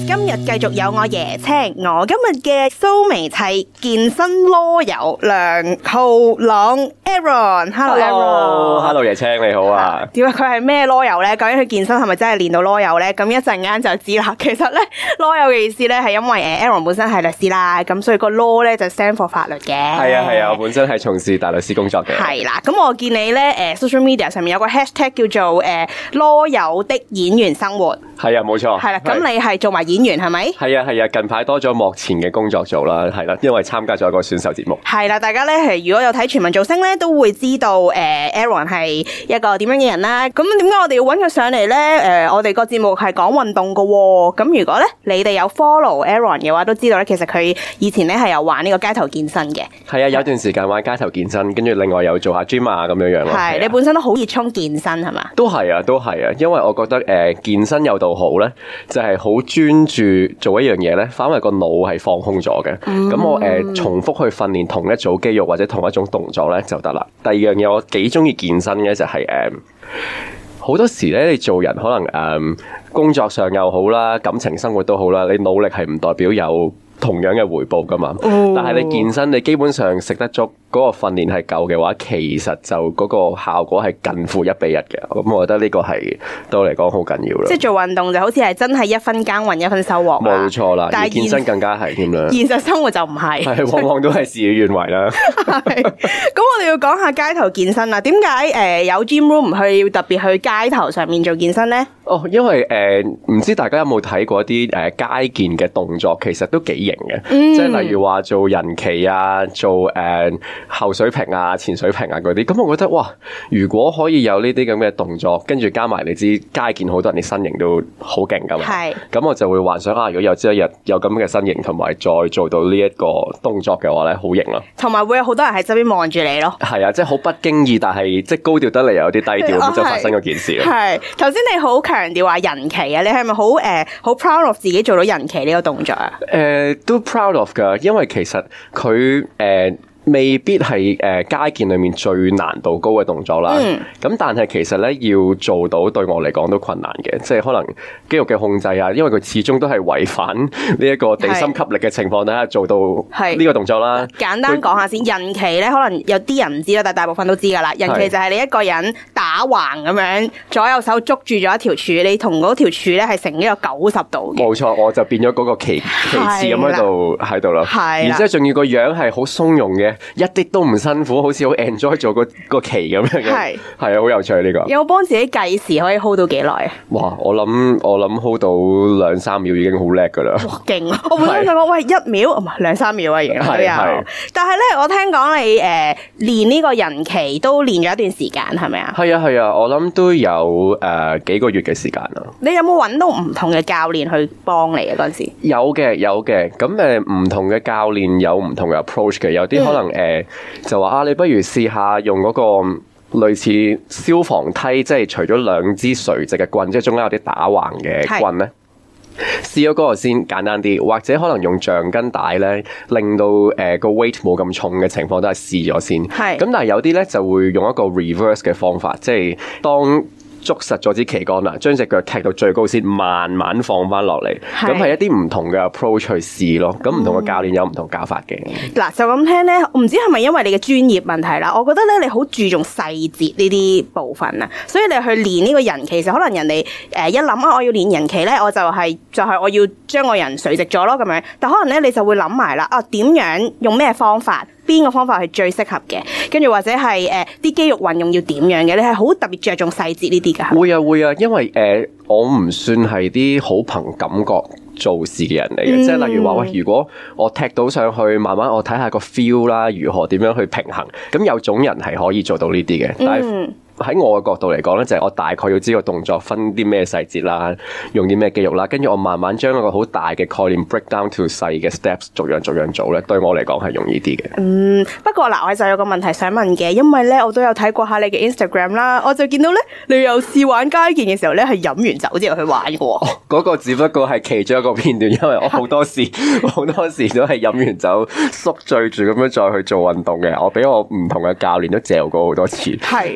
今日繼續有我椰青，我今日嘅蘇眉係健身囉柚梁浩朗 Aaron。Hello Aaron。Hello 椰青你好啊。 點解佢係咩囉柚咧？究竟佢健身係咪真係練到囉柚咧？咁一陣間就知啦。其實咧囉柚嘅意思咧係因為Aaron 本身係律師啦，咁所以個 law 咧就 stand for 法律嘅。 係啊，我本身係從事大律師工作嘅。 係啦，咁我見你咧social media 上面有個 hashtag 叫做囉柚的演員生活。 係啊，冇錯。 係啦，咁你係做埋演員係咪？ 係啊，近排多咗幕前嘅工作做啦，係啦，因為參加咗一個選秀節目。 係啦，大家咧係如果有睇全民造星咧，都會知道Aaron 係一個點樣嘅人啦。咁點解我哋要揾佢上嚟咧？我哋個節目係講運動㗎喎。咁如果咧你哋有 follow Aaron 嘅話，都知道咧其實佢以前咧係有玩呢個街頭健身嘅。 係啊，有段時間玩街頭健身，跟住另外有做下 gym 啊咁樣咯。 係，你本身都好熱衷健身係嘛？ 都係啊，因為我覺得健身有道好咧，就係好專注做一樣嘢咧，反為個腦係放空咗嘅。咁我重複去訓練同一組肌肉或者同一種動作咧就得啦。第二樣嘢我幾中意健身嘅就係好多時咧，你做人可能工作上又好啦，感情生活都好啦，你努力係唔代表有同樣嘅回報噶嘛。但係你健身，你基本上食得足，嗰個訓練係夠嘅話，其實就嗰個效果係近乎1:1嘅。咁我覺得呢個係對我嚟講好緊要啦。即係做運動就好似係真係一分耕耘一分收穫。冇錯啦，但係健身更加係添啦。現實生活就唔係，係往往都係事與願違啦。係。咁我哋要講下街頭健身啦。點解有 gym room 唔去特別去街頭上面做健身咧？因為唔知大家有冇睇過一啲街健嘅動作，其實都幾型嘅。即係例如話做人旗啊，做後水平啊、前水平啊嗰啲，咁我覺得哇，如果可以有呢啲咁嘅動作，跟住加埋你知街健好多人啲身形都好勁噶嘛，係，咁我就會幻想如果有朝一日有咁嘅身形，同埋再做到呢一個動作嘅話咧，好型咯，同埋會有好多人喺側邊望住你咯，係啊，即係好不經意，但係即係高調得嚟有啲低調咁就發生嗰件事啦。係，頭先你好強調話人旗啊，你係咪好 proud of 自己做到人旗呢個動作啊？都 proud of 噶，因為其實佢未必係街健裏面最難度高嘅動作啦。咁但係其實咧要做到對我嚟講都困難嘅，即係可能肌肉嘅控制啊，因為佢始終都係違反呢一個地心吸力嘅情況底下做到呢個動作啦。簡單講下先，人旗咧可能有啲人唔知啦，但係大部分都知㗎啦。人旗就係你一個人打橫咁樣，左右手捉住咗一條柱，你同嗰條柱咧係成呢個90度嘅。冇錯，我就變咗嗰個旗幟咁喺度啦。係，然之後仲要個樣係好鬆容嘅。一啲都唔辛苦，好似好 enjoy 做個旗咁樣嘅，係啊，好有趣呢個。有冇幫自己計時可以 hold 到幾耐啊？哇，我諗 hold 到2-3秒已經好叻噶啦。哇，勁啊！我本身想講喂1秒，唔係2-3秒啊，已經都有。但係咧，我聽講你練呢個人旗都練咗一段時間，係咪啊？係啊，我諗都有幾個月嘅時間啦。你有冇揾到唔同嘅教練去幫你啊？嗰陣時有嘅，咁唔同嘅教練有唔同嘅 approach 嘅，有啲可能就話你不如試下用嗰個類似消防梯，即係除咗2支垂直嘅棍，即係中間有啲打橫嘅棍咧，試咗嗰個先簡單啲，或者可能用橡筋帶咧，令到個 weight 冇咁重嘅情況都係試咗先。係咁，但係有啲咧就會用一個 reverse 嘅方法，即係當捉實咗支旗杆啦，將隻腳踢到最高先，慢慢放翻落嚟。咁係一啲唔同嘅 approach 去試咯。咁唔同嘅教練有唔同教法嘅。嗱，就咁聽咧，我唔知係咪因為你嘅專業問題啦？我覺得咧，你好注重細節呢啲部分啊，所以你去練呢個人旗，其實可能人哋一諗我要練人旗咧，我就係我要將個人垂直咗咯咁樣。但可能咧，你就會諗埋啦，點樣用咩方法？邊個方法係最適合嘅？跟住或者係啲肌肉運用要點樣嘅？你係好特別着重細節呢啲㗎？會啊，因為我唔算係啲好憑感覺做事嘅人嚟嘅，即係例如話喂，如果我踢到上去，慢慢我睇下個 feel 啦，如何點樣去平衡，咁有種人係可以做到呢啲嘅，但係喺我嘅角度嚟講咧，就係我大概要知個動作分啲咩細節啦，用啲咩肌肉啦，跟住我慢慢將一個好大嘅概念 break down to 細嘅 steps， 逐樣做咧，對我嚟講係容易啲嘅。不過嗱，我就有個問題想問嘅，因為咧我都有睇過下你嘅 Instagram 啦，我就見到咧你有試玩街健嘅時候咧係飲完酒之後去玩嘅喎。嗰個只不過係其中一個片段，因為我好多時都係飲完酒宿醉住咁樣再去做運動嘅。我俾我唔同嘅教練都嚼過好多次。係啊。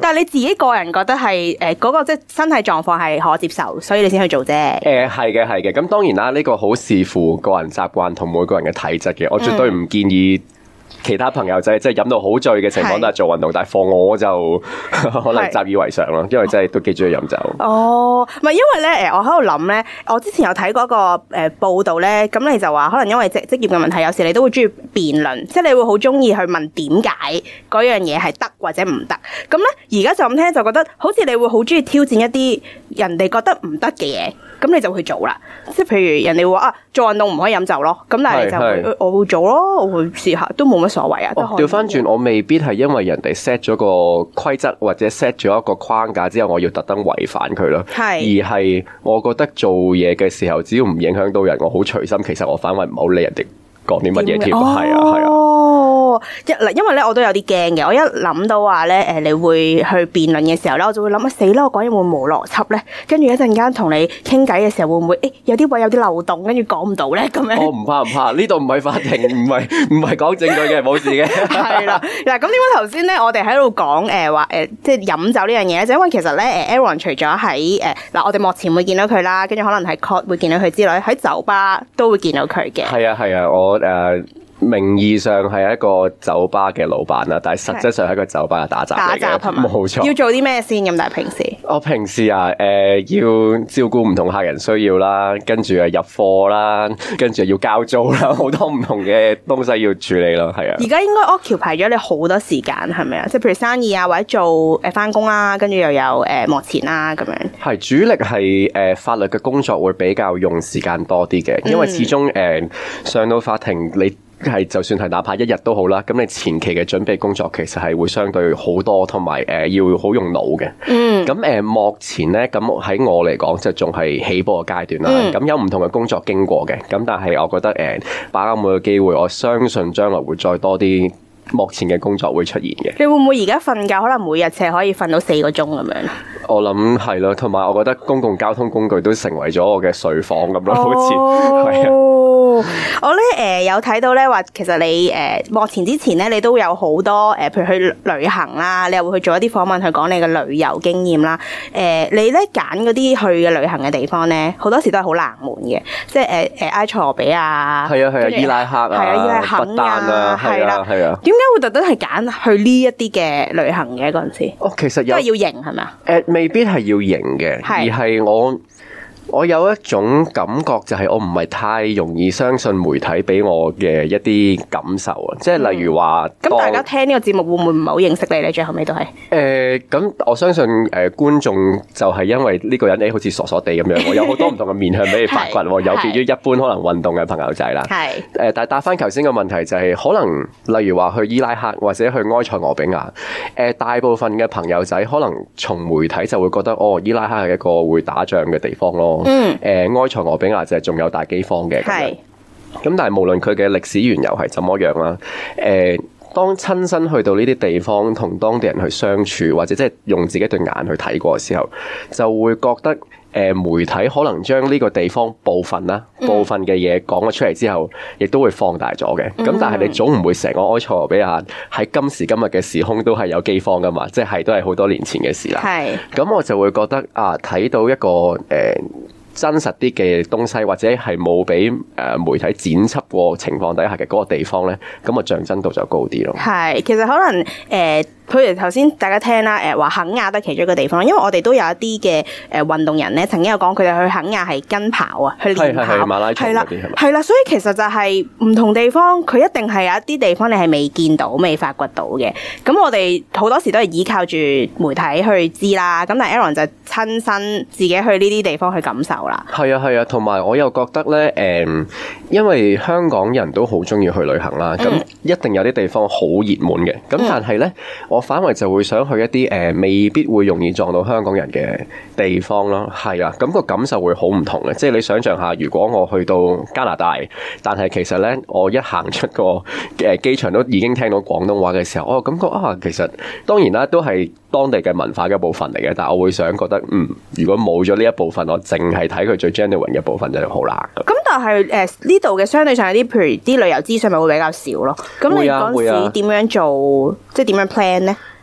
但係你自己個人覺得係嗰個即係身體狀況係可接受，所以你先去做啫。 係嘅。咁當然啦，呢個好視乎個人習慣同每個人嘅體質嘅，我絕對唔建議其他朋友仔即係飲到好醉嘅情況都係做運動，但係放我就可能習以為常咯，因為真係都幾中意飲酒。 哦，唔係因為咧，我喺度諗咧，我之前有睇過一個報道咧，咁你就話可能因為職業嘅問題，有時你都會中意辯論，即係你會好中意去問點解嗰樣嘢係得或者唔得。咁咧而家就咁聽就覺得好似你會好中意挑戰一啲人哋覺得唔得嘅嘢。咁你就去做啦，即係譬如人哋會話做運動唔可以飲酒咯，咁但係你就會我會做咯，我會試下都冇乜所謂啊。 調翻轉，我未必係因為人哋 set 咗個規則或者 set 咗一個框架之後，我要特登違反佢咯。而係我覺得做嘢嘅時候，只要唔影響到人，我好隨心。其實我反為唔好理人哋講啲乜嘢添。係啊。 因為咧我都有啲驚嘅，我一諗到話咧你會去辯論嘅時候咧，我就會諗死啦，我講嘢會冇邏輯咧，跟住一陣間同你傾偈嘅時候會唔會有啲位有啲漏洞，跟住講唔到咧咁樣？唔怕，呢度唔係法庭，唔係講證據嘅，冇事嘅。 係啦，嗱咁點解頭先咧我哋喺度講話即係飲酒呢樣嘢咧？就因為其實咧Aaron 除咗喺嗱我哋幕前會見到佢啦，跟住可能喺 court 會見到佢之類，喺酒吧都會見到佢嘅。 係啊，我名義上係一個酒吧嘅老闆啦，但係實質上係一個酒吧嘅打雜嚟嘅，冇錯。 要做啲咩先咁？但係平時我平時要照顧唔同客人需要啦，跟住入貨啦，跟住要交租啦，好多唔同嘅東西要處理咯，係啊。 而家應該 occupy 咗你好多時間係咪啊？即係譬如生意啊，或者做返工啦，跟住又有幕前啦咁樣。係主力係法律嘅工作會比較用時間多啲嘅，因為始終上到法庭你。係就算係哪怕一日都好啦，咁你前期嘅準備工作其實係會相對好多，同埋要好用腦嘅。咁目前咧，咁喺我嚟講就仲係起步嘅階段啦。咁有唔同嘅工作經過嘅，咁但係我覺得把握每個機會，我相信將來會再多啲目前嘅工作會出現嘅。 你會唔會而家瞓覺可能每日只係可以瞓到4個鐘咁樣？ 我諗係咯，同埋我覺得公共交通工具都成為咗我嘅睡房咁咯，好似係啊。 我咧有睇到咧話，其實你幕前之前咧，你都有好多譬如去旅行啦，你又會去做一啲訪問去講你嘅旅遊經驗啦。你咧揀嗰啲去嘅旅行嘅地方咧，好多時都係好冷門嘅，即係埃塞俄比亞， 係啊，伊拉克啊， 伊拉克不丹啊，係啊。 點解會特登係揀去呢一啲嘅旅行嘅嗰陣時？ 其實都係要型係咪啊？ 未必係要型嘅，而係我有一種感覺，就係我唔係太容易相信媒體俾我嘅一啲感受啊，即係例如話， 咁大家聽呢個節目會唔會唔係好認識你咧？最後尾都係咁我相信觀眾就係因為呢個人好似傻傻地咁樣，我有好多唔同嘅面向俾你發掘，有別於一般可能運動嘅朋友仔啦。但係答翻頭先個問題就係，可能例如話去伊拉克或者去埃塞俄比亞，大部分嘅朋友仔可能從媒體就會覺得伊拉克係一個會打仗嘅地方咯。埃塞俄比亞就係仲有大饑荒嘅，咁但係無論佢嘅歷史緣由係怎麼樣啦，當親身去到呢啲地方同當地人去相處，或者即係用自己對眼去睇過嘅時候，就會覺得媒體可能將呢個地方部分嘅嘢講咗出嚟之後，亦都會放大咗嘅。咁但係你總唔會成個埃塞俄比亞喺今時今日嘅時空都係有饑荒噶嘛？即係都係好多年前嘅事啦。咁我就會覺得睇到一個真實啲嘅東西，或者係冇俾媒體剪輯過情況底下嘅嗰個地方咧，咁啊象真度就高啲咯。其實可能譬如頭先大家聽啦，話肯亞都係其中一個地方，因為我哋都有一啲嘅運動人咧，曾經有講佢哋去肯亞係跟跑啊，去練跑， 馬拉松嗰啲係咪？ 係啦，所以其實就係唔同地方，佢一定係有一啲地方你係未見到、未發掘到嘅。咁我哋好多時都係依靠住媒體去知啦。咁但係 Aaron 就親身自己去呢啲地方去感受啦。 係啊，同埋我又覺得咧，因為香港人都好中意去旅行啦，咁一定有啲地方好熱門嘅。咁但係咧，我反為就會想去一啲未必會容易撞到香港人嘅地方咯。係啊，咁個感受會好唔同嘅。即係你想象下，如果我去到加拿大，但係其實咧我一行出個機場都已經聽到廣東話嘅時候，我感覺其實當然啦，都係當地嘅文化嘅一部分嚟嘅。但係我會想覺得，如果冇咗呢一部分，我淨係睇佢最 genuine 嘅部分就好難。 咁但係呢度嘅相對上有啲，譬如啲旅遊資訊咪會比較少咯。咁你嗰陣時點樣做，即係點樣 plan 咧？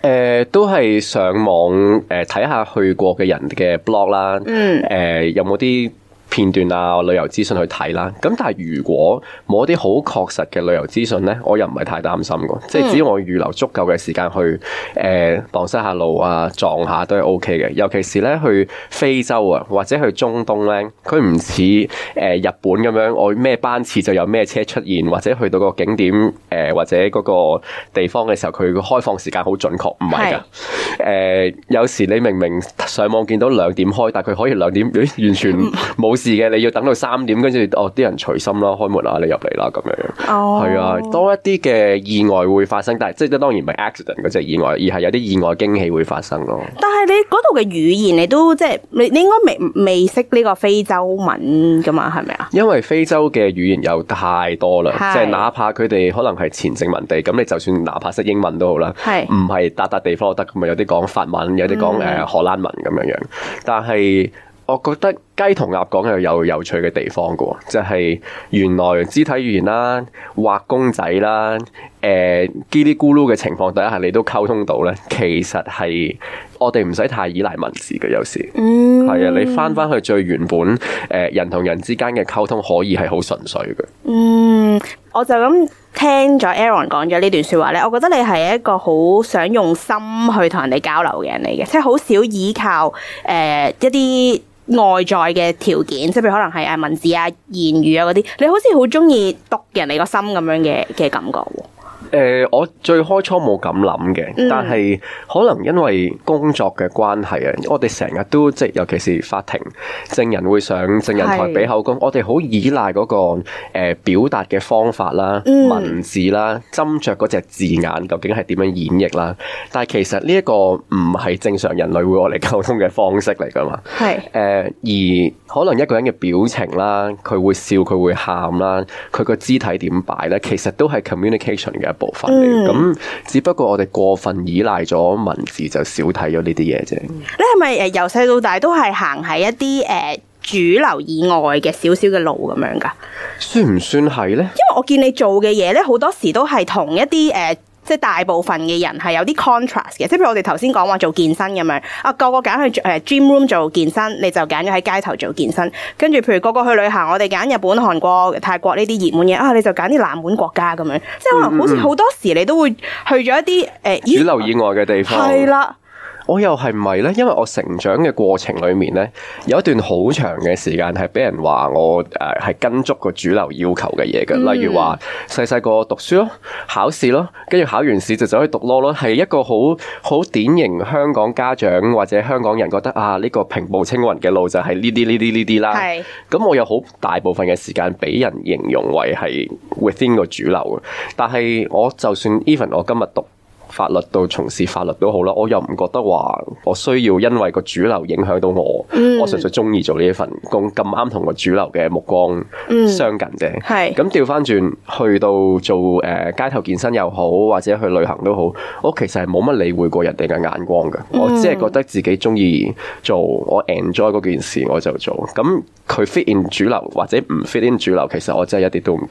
都係上網睇下去過嘅人嘅 blog 啦，有冇啲片段啊、旅遊資訊去睇啦，咁但係如果冇一啲好確實嘅旅遊資訊咧，我又唔係太擔心嘅，即係只要我預留足夠嘅時間去蕩失下路啊、撞下都係 OK 嘅。尤其是咧去非洲啊，或者去中東咧，佢唔似日本咁樣，我咩班次就有咩車出現，或者去到個景點或者嗰個地方嘅時候，佢個開放時間好準確，唔係㗎。有時你明明上網見到2點開，但係佢可以2點完全冇事嘅，你要等到3點，跟住啲人隨心啦，開門啦，你入嚟啦咁樣。係啊，多一啲嘅意外會發生，但係即係當然唔係 accident 嗰隻意外，而係有啲意外驚喜會發生咯。但係你嗰度嘅語言，你都即係你應該未識呢個非洲文噶嘛？係咪啊？ 因為非洲嘅語言有太多啦，即係哪怕佢哋可能係前殖民地，咁你就算哪怕識英文都好啦，唔係笪地方都得，咁咪有啲講法文，有啲講荷蘭文咁樣。但係我覺得雞同鴨講又有有趣嘅地方嘅，就係原來肢體語言啦、畫公仔啦、嘰哩咕嚕嘅情況底下，你都溝通到咧。其實係我哋唔使太依賴文字嘅，有時係啊，你翻去最原本人同人之間嘅溝通可以係好純粹嘅。 我就咁聽咗 Aaron 講咗呢段說話咧，我覺得你係一個好想用心去同人哋交流嘅人嚟嘅，即係好少依靠一啲外在嘅條件，即係譬如可能係文字啊、言語啊嗰啲，你好似好中意讀人哋個心咁樣嘅感覺喎。 我最開初冇咁諗嘅，但係可能因為工作嘅關係啊，我哋成日都即係尤其是法庭證人會上證人台俾口供，我哋好依賴嗰個表達嘅方法啦、文字啦、斟酌嗰隻字眼究竟係點樣演繹啦。但係其實呢一個唔係正常人類會我嚟溝通嘅方式嚟噶嘛。而可能一個人嘅表情啦，佢會笑，佢會喊啦，佢個肢體點擺咧，其實都係 communication 嘅部分嚟，咁只不過我哋過分依賴咗文字，就少睇咗呢啲嘢啫。 你係咪由細到大都係行喺一啲主流以外嘅少少嘅路咁樣噶？算唔算係咧？因為我見你做嘅嘢咧，好多時都係同一啲即係大部分嘅人係有啲 contrast 嘅，即係譬如我哋頭先講話做健身咁樣，個個揀去gym room 做健身，你就揀咗喺街頭做健身。跟住譬如個個去旅行，我哋揀日本、韓國、泰國呢啲熱門嘢，你就揀啲冷門國家咁樣。即係可能好似好多時你都會去咗一啲主流以外嘅地方。 係啦。 我又係唔係咧？因為我成長嘅過程裏面咧，有一段好長嘅時間係俾人話我係跟足個主流要求嘅嘢嘅，例如話細細個讀書咯、考試咯，跟住考完試就走去讀 law 咯，係一個好典型香港家長或者香港人覺得呢個平步青雲嘅路就係呢啲啦。係。咁我有好大部分嘅時間俾人形容為係 within 個主流嘅，但係我就算 even 我今日讀法律到從事法律都好啦，我又唔覺得話我需要因為個主流影響到我，我純粹中意做呢一份工，咁啱同個主流嘅目光相近啫。係咁調翻轉去到做街頭健身又好，或者去旅行都好，我其實係冇乜理會過人哋嘅眼光嘅，我只係覺得自己中意做，我 enjoy 嗰件事我就做。咁佢 fit in 主流或者唔 fit in 主流，其實我真係一啲都唔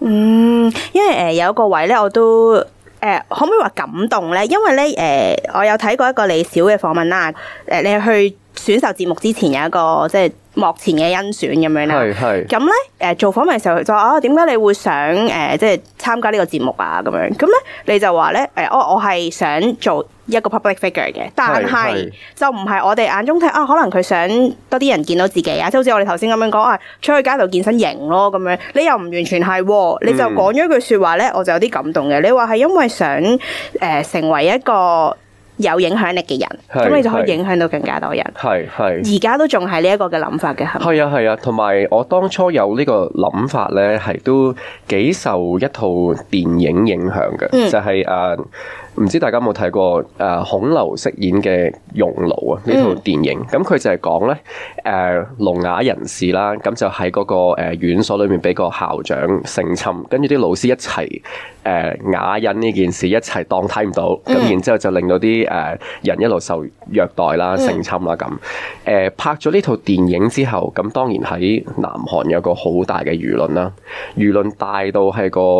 care。 因為有一個位咧，我都。可唔可以話感動咧？因為咧，我有睇過一個李小嘅訪問啦。你去選秀節目之前有一個即係幕前嘅甄選咁樣啦。係。咁咧，做訪問嘅時候佢就話點解你會想即係參加呢個節目啊？咁樣咁咧，你就話咧我係想做一個 public figure 嘅，但係就唔係我哋眼中睇可能佢想多啲人見到自己啊，即係好似我哋頭先咁樣講出去街頭健身型咯咁樣，你又唔完全係，你就講咗一句說話咧，我就有啲感動嘅。你話係因為想成為一個有影響力嘅人，咁你就可以影響到更加多人。係而家都仲係呢一個嘅諗法嘅， 係啊，同埋我當初有呢個諗法咧，係都幾受一套電影影響嘅，就係唔知大家有冇睇過孔劉飾演嘅《熔爐》啊？呢套電影，咁佢就係講咧聾啞人士啦，咁就喺嗰個院所裏面俾個校長性侵，跟住啲老師一齊啞忍呢件事，一齊當睇唔到，咁然之後就令到啲人一路受虐待啦、性侵啦咁。拍咗呢套電影之後，咁當然喺南韓有個好大嘅輿論啦，輿論大到係個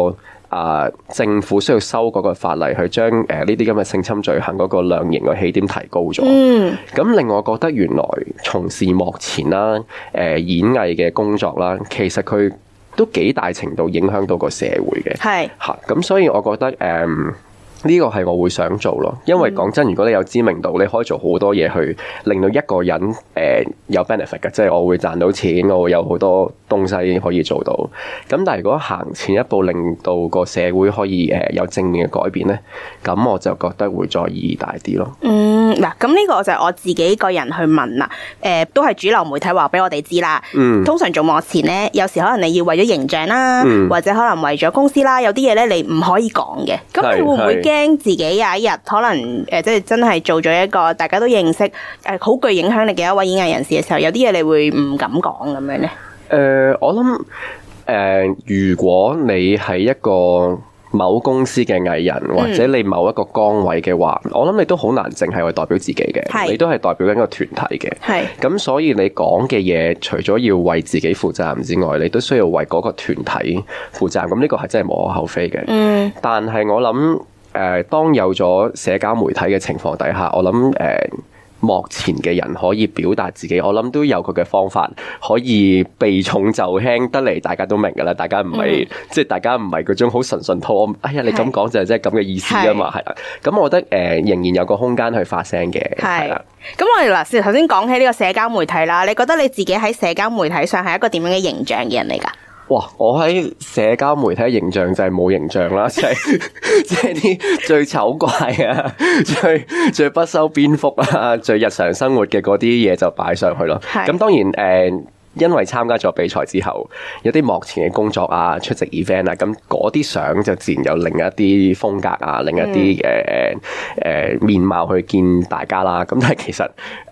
政府需要修嗰個法例去將呢啲咁嘅性侵罪行嗰個量刑嘅起點提高咗。咁令我覺得原來從事幕前啦、演藝嘅工作啦，其實佢都幾大程度影響到個社會嘅。係嚇，咁所以我覺得呢個係我會想做咯，因為講真，如果你有知名度，你可以做好多嘢去令到一個人有 benefit 嘅，即係我會賺到錢，我會有好多東西可以做到。咁但係如果行前一步，令到個社會可以有正面嘅改變咧，咁我就覺得會再意義大啲咯。 嗱，咁呢個就係我自己個人去問啦。都係主流媒體話俾我哋知啦。通常做幕前咧，有時可能你要為咗形象啦，或者可能為咗公司啦，有啲嘢咧你唔可以講嘅。咁你會唔會驚自己有一日可能即係真係做咗一個大家都認識好具影響力嘅一位演藝人士嘅時候，有啲嘢你會唔敢講咁樣咧？ 我諗如果你係一個某公司嘅藝人，或者你某一個崗位嘅話，我諗你都好難淨係去代表自己嘅，你都係代表緊一個團體嘅。咁所以你講嘅嘢，除咗要為自己負責任之外，你都需要為嗰個團體負責任。咁呢個係真係無可厚非嘅。但係我諗當有咗社交媒體嘅情況底下，我諗幕前嘅人可以表達自己，我諗都有佢嘅方法，可以避重就輕得嚟，大家都明㗎啦。大家唔係即係大家唔係嗰種好純純套，哎呀你咁講就係即係咁嘅意思㗎嘛，係啦。咁我覺得仍然有個空間去發聲嘅，係啦。 咁我哋嗱，頭先講起呢個社交媒體啦，你覺得你自己喺社交媒體上係一個點樣嘅形象嘅人嚟㗎？ 哇！我喺社交媒體嘅形象就係冇形象啦，即係啲最醜怪啊，最不修邊幅啊，最日常生活嘅嗰啲嘢就擺上去咯。咁當然因為參加咗比賽之後，有啲幕前嘅工作啊，出席 event 啊，咁嗰啲相就自然有另一啲風格啊，另一啲面貌去見大家啦。咁但係其實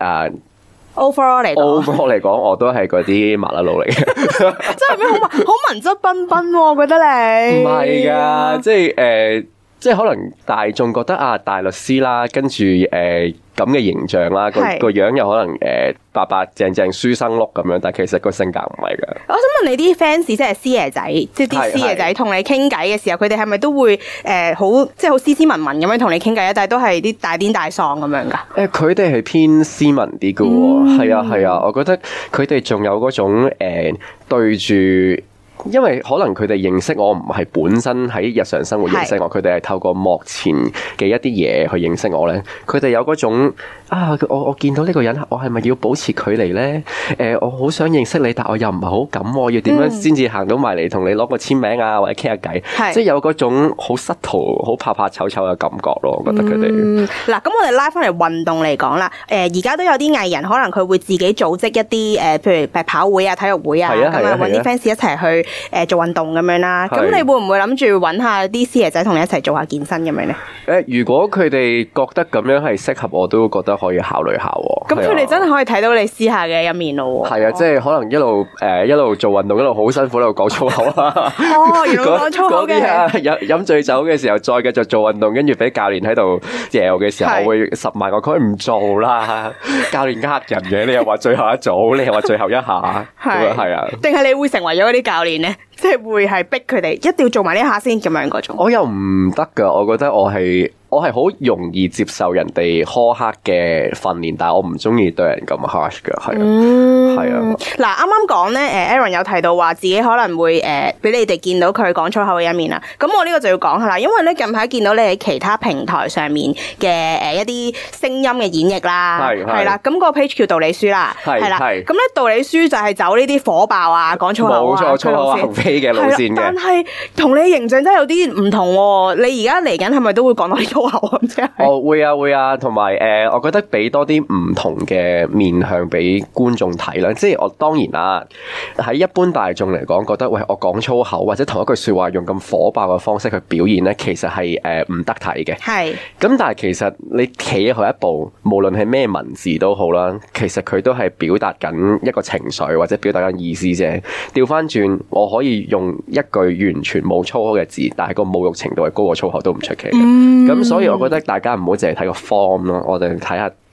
overall 嚟講，我都係嗰啲麻甩佬嚟嘅， 真係咩好文質彬彬，我覺得你唔係噶，即係可能大眾覺得大律師啦，跟住咁嘅形象啦，個樣又可能白白淨淨書生碌咁樣，但係其實個性格唔係噶。我想問你啲 fans 即係師爺仔，即係啲師爺仔同你傾偈嘅時候，佢哋係咪都會好斯斯文文咁樣同你傾偈啊？但係都係啲大癲大喪咁樣噶？ 佢哋係偏斯文啲噶喎，係啊，我覺得佢哋仲有嗰種對住。因為可能佢哋認識我唔係本身喺日常生活認識我，佢哋係透過幕前嘅一啲嘢去認識我咧。佢哋有嗰種我見到呢個人，我係咪要保持距離咧？我好想認識你，但我又唔係好敢，我要點樣先至行到埋嚟同你攞個簽名啊，或者傾下偈？即係有嗰種好失途、好怕怕醜醜嘅感覺咯。我覺得佢哋嗱，咁我哋拉翻嚟運動嚟講啦。而家都有啲藝人可能佢會自己組織一啲譬如跑會啊、體育會啊，咁啊揾啲 fans 一齊去做運動咁樣啦，咁你會唔會諗住揾下啲師爺仔同你一齊做下健身咁樣咧？ 如果佢哋覺得咁樣係適合，我都覺得可以考慮下。 咁佢哋真係可以睇到你私下嘅一面咯。 係啊，即係可能一路做運動，一路好辛苦，一路講粗口啊。 原來講粗口嘅。 飲醉酒嘅時候，再繼續做運動，跟住俾教練喺度嚼嘅時候，我會10萬個佢唔做啦。教練呃人嘅，你又話最後一組，你又話最後一下，係啊。定係你會成為咗嗰啲教練咧？即係會係逼佢哋一定要做埋呢下先咁樣嗰種。 我又唔得噶，我覺得我係好容易接受人哋苛刻嘅訓練，但係我唔中意對人咁 harsh 噶，係啊。 嗱，啱啱講咧，Aaron 有提到話自己可能會俾你哋見到佢講粗口嘅一面啦。咁我呢個就要講下啦，因為咧近排見到你喺其他平台上面嘅一啲聲音嘅演繹啦，係啦。咁個 page 叫道理書啦，係啦。咁咧道理書就係走呢啲火爆啊，講粗口啊， 冇錯，粗口橫飛嘅路線嘅。 但係同你形象真係有啲唔同喎。你而家嚟緊係咪都會講到啲粗口啊？ 會啊，同埋我覺得俾多啲唔同嘅面向俾觀眾睇啦。即係我當然啦，喺一般大眾嚟講，覺得喂，我講粗口或者同一句說話用咁火爆嘅方式去表現咧，其實係唔得睇嘅。係。咁但係其實你企去一步，無論係咩文字都好啦，其實佢都係表達緊一個情緒或者表達緊意思啫。調翻轉，我可以用一句完全冇粗口嘅字，但係個侮辱程度係高過粗口都唔出奇嘅。咁所以我覺得大家唔好淨係睇個 form 咯，我哋睇下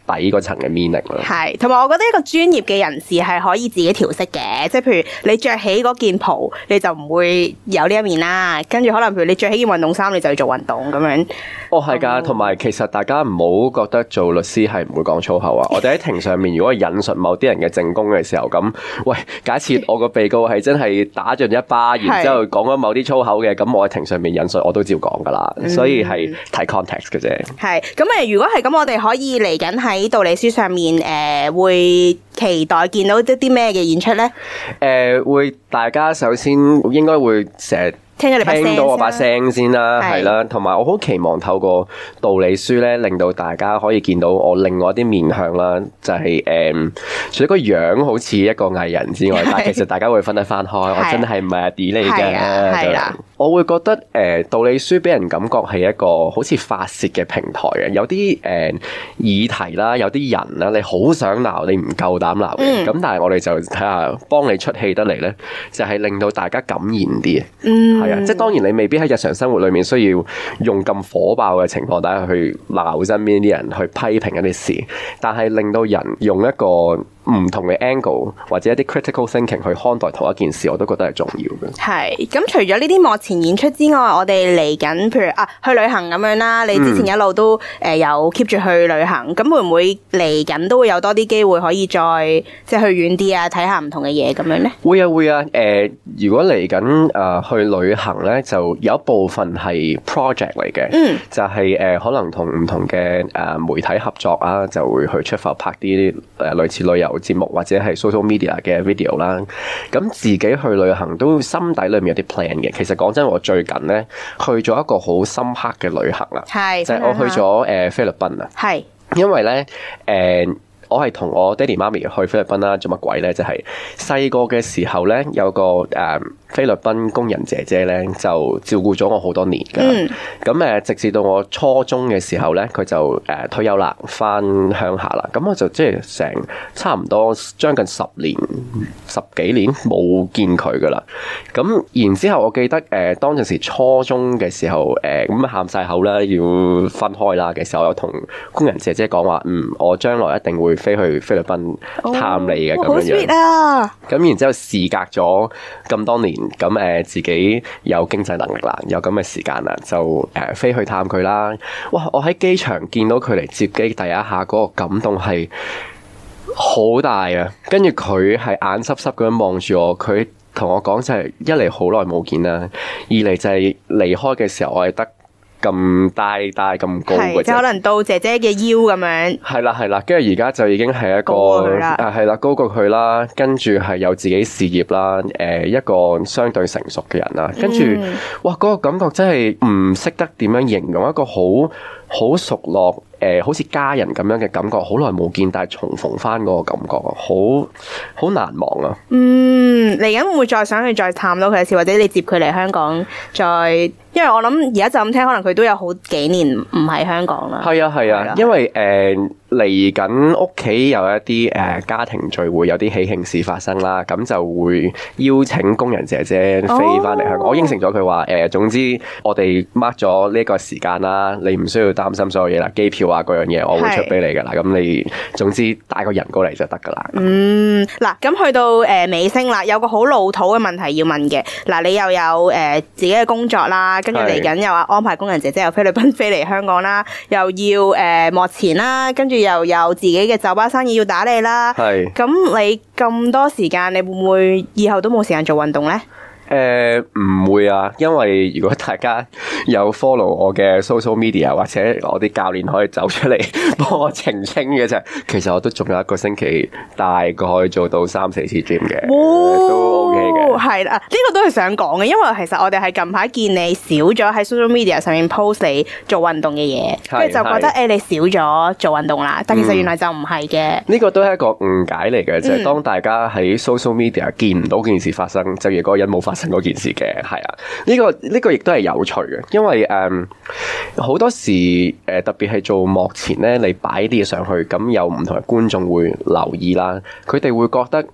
底嗰層嘅 meaning 咯。 係，同埋我覺得一個專業嘅人士係可以自己調適嘅，即係譬如你着起嗰件袍，你就唔會有呢一面啦。跟住可能譬如你着起件運動衫，你就要做運動咁樣。 哦，係㗎，同埋其實大家唔好覺得做律師係唔會講粗口啊！我哋喺庭上面如果引述某啲人嘅證供嘅時候，咁喂，假設我個被告係真係打盡一巴，然之後講咗某啲粗口嘅，咁我喺庭上面引述我都照講㗎啦，所以係睇 context 嘅啫。係， 咁如果係咁，我哋可以嚟緊喺道理書上面會期待見到啲咩嘅演出咧？ 會大家首先應該會成日聽到我把聲先啦，係啦，同埋我好期望透過道理書咧，令到大家可以見到我另外一啲面向啦，就係除咗個樣好似一個藝人之外，但係其實大家會分得翻開，我真係唔係阿 D 嚟嘅，係啦。我會覺得道理書俾人感覺係一個好似發洩嘅平台嘅，有啲議題啦，有啲人啦，你好想鬧，你唔夠膽鬧嘅，咁但係我哋就睇下幫你出氣得嚟咧，就係令到大家感染啲。係啊，即係當然你未必喺日常生活裏面需要用咁火爆嘅情況底下去鬧身邊啲人，去批評一啲事，但係令到人用一個唔同嘅 angle 或者一啲 critical thinking 去看待同一件事，我都覺得係重要嘅。係，咁除咗呢啲幕前演出之外，我哋嚟緊譬如去旅行咁樣啦，你之前一路都有 keep 住去旅行，咁會唔會嚟緊都會有多啲機會可以再即係去遠啲啊，睇下唔同嘅嘢咁樣咧？會啊會啊， 如果嚟緊去旅行咧，就有一部分係 project 嚟嘅，就係可能同唔同嘅媒體合作啊，就會去出發拍啲類似旅遊節目或者係 social media 嘅 video 啦，咁自己去旅行都心底裏面有啲 plan 嘅。其實講真，我最近咧去咗一個好深刻嘅旅行啦，就係我去咗菲律賓啊，係因為咧我係同我爹哋媽咪去菲律賓啦，做乜鬼咧？就係細個嘅時候咧，有個菲律賓工人姐姐咧，就照顧咗我好多年㗎。咁直至到我初中嘅時候咧，佢就退休啦，返鄉下啦。咁我就即係成差唔多將近10幾年冇見佢㗎啦。咁然之後，我記得當陣時初中嘅時候，咁喊晒口啦，要分開啦嘅時候，我有同工人姐姐講話，我將來一定會飛去菲律賓探你嘅咁樣樣。咁然之後事隔咗咁多年，咁自己有經濟能力啦，有咁嘅時間啦，就飛去探佢啦。哇！我喺機場見到佢嚟接機第一下嗰個感動係好大啊！跟住佢係眼濕濕咁樣望住我，佢同我講就係一嚟好耐冇見啦，二嚟就係離開嘅時候我係得咁大咁高嘅啫， 即係可能到姐姐嘅腰咁樣。係啦，跟住而家就已經係一個係啦，高過佢啦，跟住係有自己事業啦，一個相對成熟嘅人啦，跟住哇嗰個感覺真係唔識得點樣形容，一個好熟絡好似家人咁樣嘅感覺，好耐冇見，但係重逢翻嗰個感覺，好難忘啊！嚟緊會唔會再想去再探到佢一次，或者你接佢嚟香港再？因為我諗而家就咁聽，可能佢都有好幾年唔喺香港啦。係啊，因為嚟緊屋企有一啲家庭聚會，有啲喜慶事發生啦，咁就會邀請工人姐姐飛翻嚟香港。我應承咗佢話總之我哋 mark 咗呢個時間啦，你唔需要擔心所有嘢啦，機票啊嗰樣嘢我會出俾你噶啦。咁你總之帶個人過嚟就得噶啦。嗱，咁去到尾聲啦，有個好老土嘅問題要問嘅。嗱，你又有自己嘅工作啦，跟住嚟緊又話安排工人姐姐由菲律賓飛嚟香港啦，又要幕前啦，跟住又有自己嘅酒吧生意要打理啦。咁你咁多時間，你會唔會以後都冇時間做運動呢？唔會啊，因為如果大家有 follow 我嘅 social media 或者我啲教練可以走出嚟幫我澄清嘅啫，其實我都仲有一個星期大概做到3-4次 gym 嘅，都 OK 嘅。係啦，呢個都係想講嘅，因為其實我哋係近排見你少咗喺 social media 上面 post 你做運動嘅嘢，跟住就覺得你少咗做運動啦，但其實原來就唔係嘅。呢個都係一個誤解嚟嘅，就係當大家喺 social media 見唔到件事發生，就如嗰個人冇發生嗰件事嘅，係啊，呢個亦都係有趣嘅，因為好多時特別係做幕前咧，你擺啲嘢上去，咁有唔同嘅觀眾會留意啦，佢哋會覺得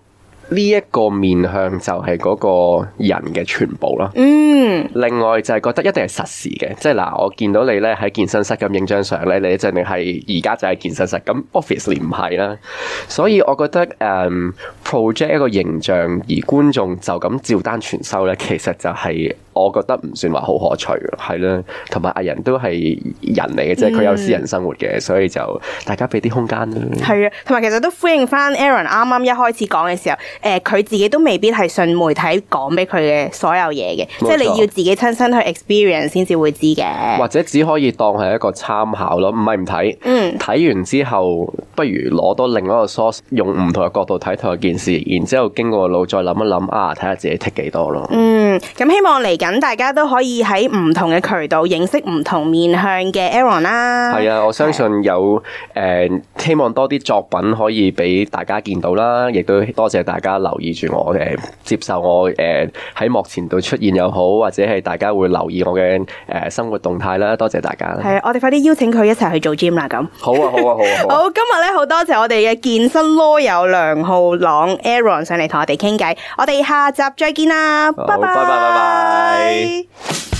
呢一個面向就係嗰個人嘅全部咯。另外就係覺得一定係實時嘅，即係嗱，我見到你咧喺健身室咁影張相咧，你一定係而家就喺健身室，咁 obviously 唔係啦。所以我覺得project 一個形象而觀眾就咁照單全收咧，其實就係我覺得唔算話好可取嘅，係啦。同埋藝人都係人嚟嘅，即係佢有私人生活嘅，所以就大家俾啲空間啦。 係啊，同埋其實都呼應翻 Aaron 啱啱一開始講嘅時候，佢自己都未必係信媒體講俾佢嘅所有嘢嘅，即係你要自己親身去 experience 先至會知嘅，或者只可以當係一個參考咯，唔係唔睇。睇完之後，不如攞多另一個 source， 用唔同嘅角度睇同一件事，然之後經過個腦再諗一諗睇下自己剔幾多咯。 咁希望嚟緊大家都可以喺唔同嘅渠道認識唔同面向嘅 Aaron 啦。係啊，我相信有希望多啲作品可以俾大家見到啦，亦都多謝大家留意住我接受我喺幕前度出現又好，或者係大家會留意我嘅生活動態啦，多謝大家。 係啊，我哋快啲邀請佢一齊去做 gym 啦咁。 好啊。 好，今日咧好多謝我哋嘅健身囉友梁浩朗 Aaron 上嚟同我哋傾偈，我哋下集再見啦，拜拜。